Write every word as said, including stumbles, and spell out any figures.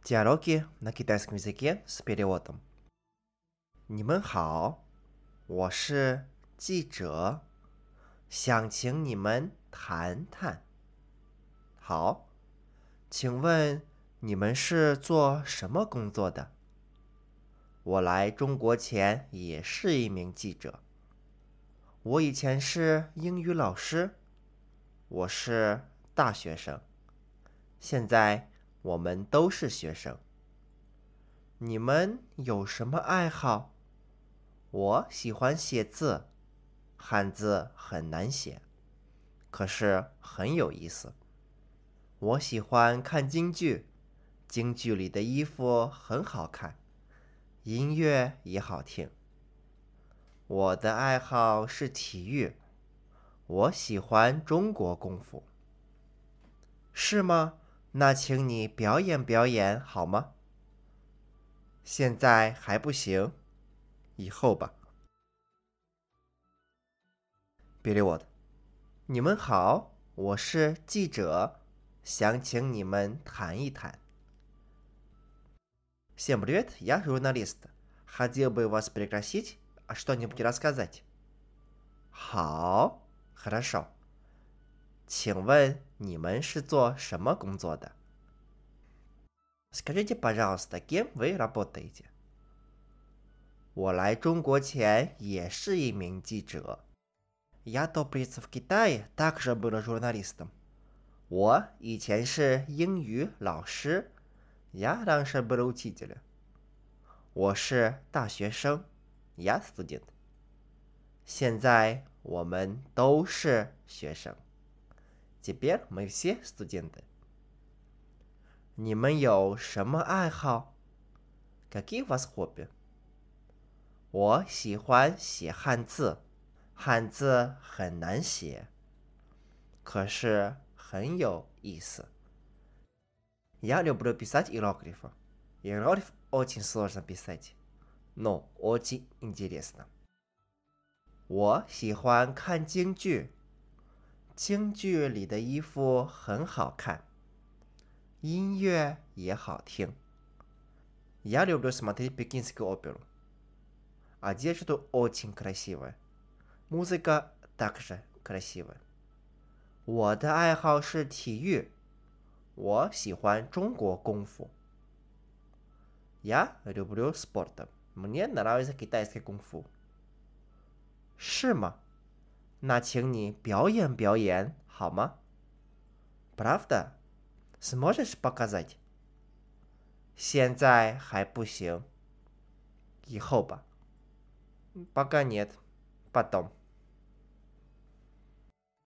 Диалоги на китайском языке с переводом. 你们好，我是记者，想请你们谈谈。好，请问你们是做什么工作的？我来中国前也是一名记者。我以前是英语老师，我是大学生。现在我们都是学生。你们有什么爱好？我喜欢写字，汉字很难写，可是很有意思。我喜欢看京剧，京剧里的衣服很好看，音乐也好听。我的爱好是体育，我喜欢中国功夫。是吗？那请你表演表演好吗？现在还不行，以后吧。Перевод. 你们好，我是记者，想请你们谈一谈。Всем привет, я журналист. Хотел бы вас пригласить, что-нибудь рассказать. 好，хорошо. 请问你们是做什么工作的？ Скажите, пожалуйста, кем вы работаете? 我来中国前也是一名记者。Я до приезда в Китай также был журналистом. 我以前是英语老师。Я раньше был учителем. 我是大学生。Я студент. 现在我们都是学生。Теперь мы все студенты. 你们有什么爱好？ Какие у вас хобби? 我喜欢写汉字，汉字很难写，可是很有意思。Я люблю писать иероглифы. Иероглиф очень сложно писать, но очень интересно. 我喜欢看京剧，京剧里的衣服很好看，音乐也好听。Я люблю смотреть пекинскую оперу. Одежда очень красивая. Музыка также красивая. 我的爱好是体育，我喜欢中国功夫。Я люблю спорт. Мне нравится китайский кунг-фу. 是吗？那请你表演表演好吗？ Правда? Сможешь показать? 现在还不行，以后吧。Пока нет. Потом.